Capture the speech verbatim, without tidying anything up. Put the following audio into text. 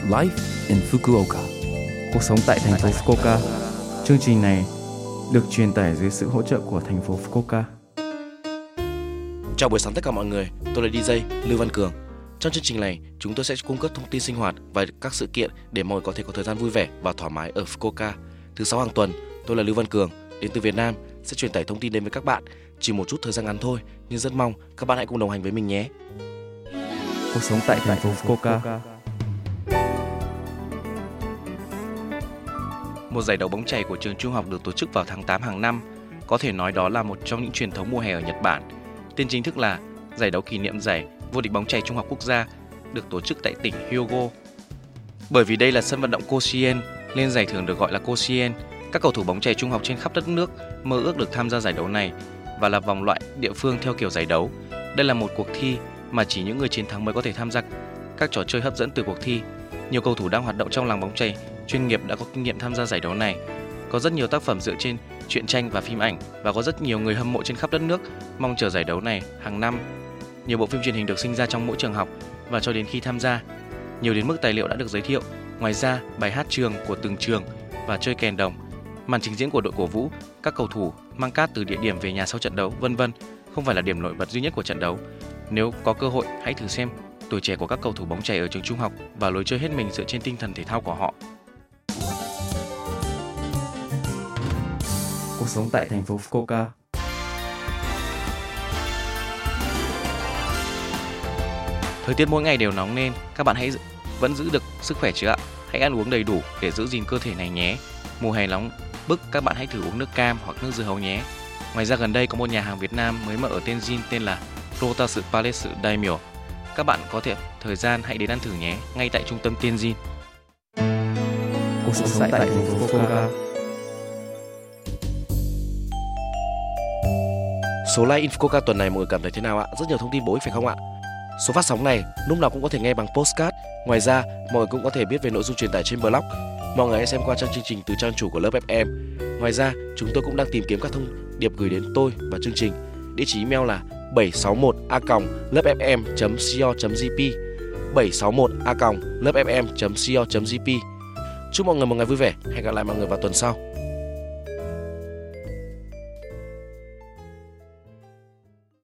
Life in Fukuoka. Cuộc sống tại thành phố Fukuoka. Chương trình này được truyền tải dưới sự hỗ trợ của thành phố Fukuoka. Chào buổi sáng tất cả mọi người, tôi là đi giây Lưu Văn Cường. Trong chương trình này, chúng tôi sẽ cung cấp thông tin sinh hoạt và các sự kiện để mọi người có thể có thời gian vui vẻ và thoải mái ở Fukuoka. Thứ sáu hàng tuần, tôi là Lưu Văn Cường, đến từ Việt Nam, sẽ truyền tải thông tin đến với các bạn. Chỉ một chút thời gian ngắn thôi, nhưng rất mong các bạn hãy cùng đồng hành với mình nhé. Cuộc sống tại thành phố Fukuoka. Một giải đấu bóng chày của trường trung học được tổ chức vào tháng tám hàng năm, có thể nói đó là một trong những truyền thống mùa hè ở Nhật Bản. Tên chính thức là giải đấu kỷ niệm giải vô địch bóng chày trung học quốc gia, được tổ chức tại tỉnh Hyogo. Bởi vì đây là sân vận động Koshien, nên giải thưởng được gọi là Koshien. Các cầu thủ bóng chày trung học trên khắp đất nước mơ ước được tham gia giải đấu này và là vòng loại địa phương theo kiểu giải đấu. Đây là một cuộc thi mà chỉ những người chiến thắng mới có thể tham gia các trò chơi hấp dẫn từ cuộc thi. Nhiều cầu thủ đang hoạt động trong làng bóng chày chuyên nghiệp đã có kinh nghiệm tham gia giải đấu này. Có rất nhiều tác phẩm dựa trên truyện tranh và phim ảnh và có rất nhiều người hâm mộ trên khắp đất nước mong chờ giải đấu này hàng năm. Nhiều bộ phim truyền hình được sinh ra trong mỗi trường học và cho đến khi tham gia, nhiều đến mức tài liệu đã được giới thiệu. Ngoài ra, bài hát trường của từng trường và chơi kèn đồng, màn trình diễn của đội cổ vũ, các cầu thủ mang cát từ địa điểm về nhà sau trận đấu, vân vân không phải là điểm nổi bật duy nhất của trận đấu. Nếu có cơ hội, hãy thử xem tuổi trẻ của các cầu thủ bóng chày ở trường trung học và lối chơi hết mình dựa trên tinh thần thể thao của họ. Cuộc sống tại thành phố Fukuoka. Thời tiết mỗi ngày đều nóng nên các bạn hãy vẫn giữ được sức khỏe chứ ạ. Hãy ăn uống đầy đủ để giữ gìn cơ thể này nhé. Mùa hè nóng bức, các bạn hãy thử uống nước cam hoặc nước dưa hấu nhé. Ngoài ra gần đây có một nhà hàng Việt Nam mới mở ở Tenjin tên là Lotus Palace Daimyo. Các bạn có thể thời gian hãy đến ăn thử nhé, ngay tại trung tâm Tenjin. Cuộc sống tại thành phố Fukuoka. Số Live in Fukuoka tuần này mọi người cảm thấy thế nào ạ? Rất nhiều thông tin bổ ích phải không ạ? Số phát sóng này lúc nào cũng có thể nghe bằng podcast. Ngoài ra, mọi người cũng có thể biết về nội dung truyền tải trên blog. Mọi người hãy xem qua trang chương trình từ trang chủ của lớp ép em. Ngoài ra, chúng tôi cũng đang tìm kiếm các thông điệp gửi đến tôi và chương trình. Địa chỉ email là bảy sáu một a còng lớp ép em chấm co chấm jp bảy sáu một a còng lớp ép em chấm co chấm jp. Chúc mọi người một ngày vui vẻ. Hẹn gặp lại mọi người vào tuần sau.